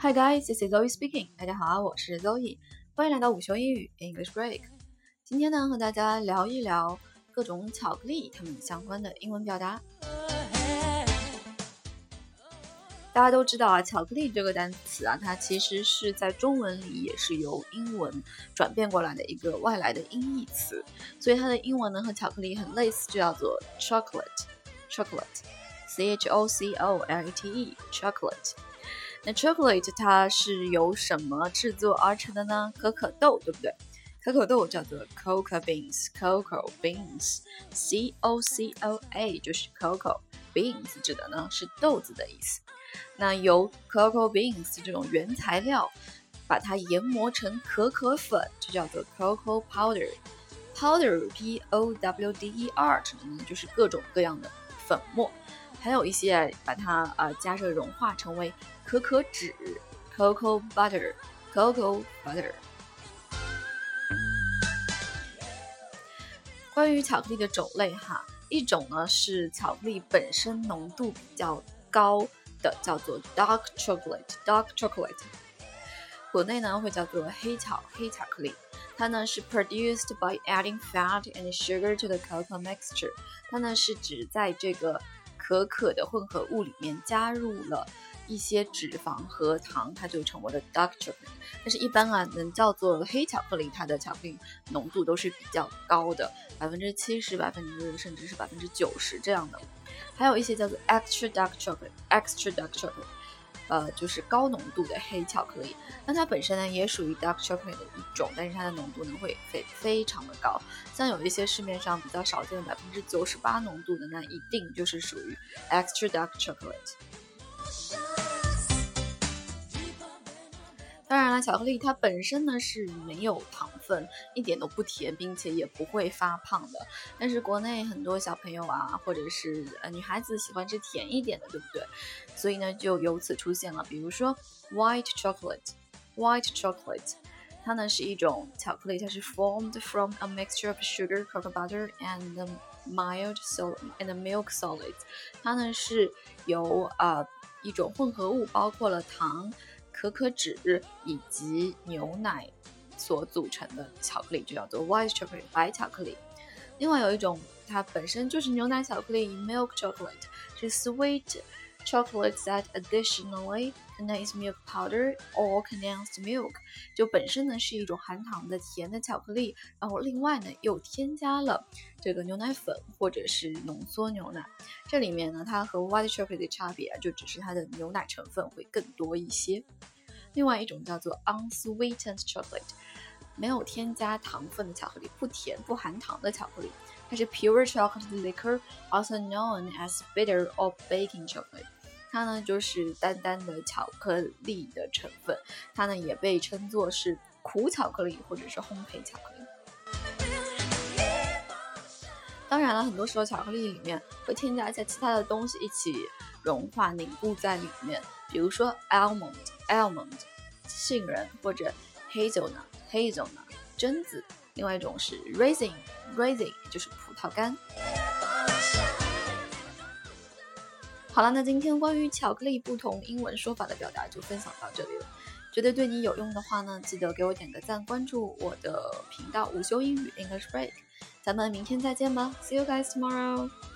Hi guys, this is Zoe speaking. 大家好，我是 Zoe， 欢迎来到午休英语 English Break。今天呢，和大家聊一聊各种巧克力它们相关的英文表达。大家都知道啊，巧克力这个单词啊，它其实是在中文里也是由英文转变过来的一个外来的音译词，所以它的英文呢和巧克力很类似，就叫做 chocolate。chocolate。那 chocolate 它是由什么制作而成的呢？可可豆，对不对？可可豆叫做 cocoa beans，cocoa beans，C-O-C-O-A 就是 cocoa beans 指的呢是豆子的意思。那由 cocoa beans 这种原材料把它研磨成可可粉，就叫做 cocoa powder。powder P-O-W-D-E-R 指的呢就是各种各样的粉末，还有一些把它加热融化成为可可脂 cocoa butter。关于巧克力的种类哈，一种呢是巧克力本身浓度比较高的，叫做 dark chocolate。国内呢会叫做黑巧克力，它呢是 produced by adding fat and sugar to the cocoa mixture。它呢是指在这个可可的混合物里面加入了一些脂肪和糖，它就成为了 dark chocolate。但是一般能叫做黑巧克力，它的巧克力浓度都是比较高的，70%甚至是90%这样的。还有一些叫做 extra dark chocolate， 就是高浓度的黑巧克力。那它本身呢也属于 dark chocolate 的一种，但是它的浓度呢会非常的高。像有一些市面上比较少见的98%浓度的，那一定就是属于 extra dark chocolate。当然了，巧克力它本身呢是没有糖分，一点都不甜，并且也不会发胖的。但是国内很多小朋友啊，或者是女孩子喜欢吃甜一点的，对不对？所以呢就由此出现了，比如说 white chocolate。它呢是一种巧克力，它是 formed from a mixture of sugar, cocoa butter and milk solids。它呢是由一种混合物，包括了糖、可可脂以及牛奶所组成的巧克力，就叫做 white chocolate 白巧克力。另外有一种它本身就是牛奶巧克力 milk chocolate， 是 sweet chocolate that additionally contains milk powder or condensed milk， 就本身呢是一种含糖的甜的巧克力，然后另外呢又添加了这个牛奶粉或者是浓缩牛奶。这里面呢它和 white chocolate 的差别就只是它的牛奶成分会更多一些。另外一种叫做 unsweetened chocolate， 没有添加糖分的巧克力，不甜不含糖的巧克力，它是 pure chocolate liquor also known as bitter or baking chocolate。它呢就是单单的巧克力的成分，它呢也被称作是苦巧克力或者是烘焙巧克力。当然了，很多时候巧克力里面会添加一些其他的东西一起融化凝固在里面，比如说 almond 杏仁，或者 hazelnut 榛子。另外一种是 raisin 就是葡萄干。好了，那今天关于巧克力不同英文说法的表达就分享到这里了。觉得对你有用的话呢，记得给我点个赞，关注我的频道午休英语 English Break。咱们明天再见吧 ，See you guys tomorrow。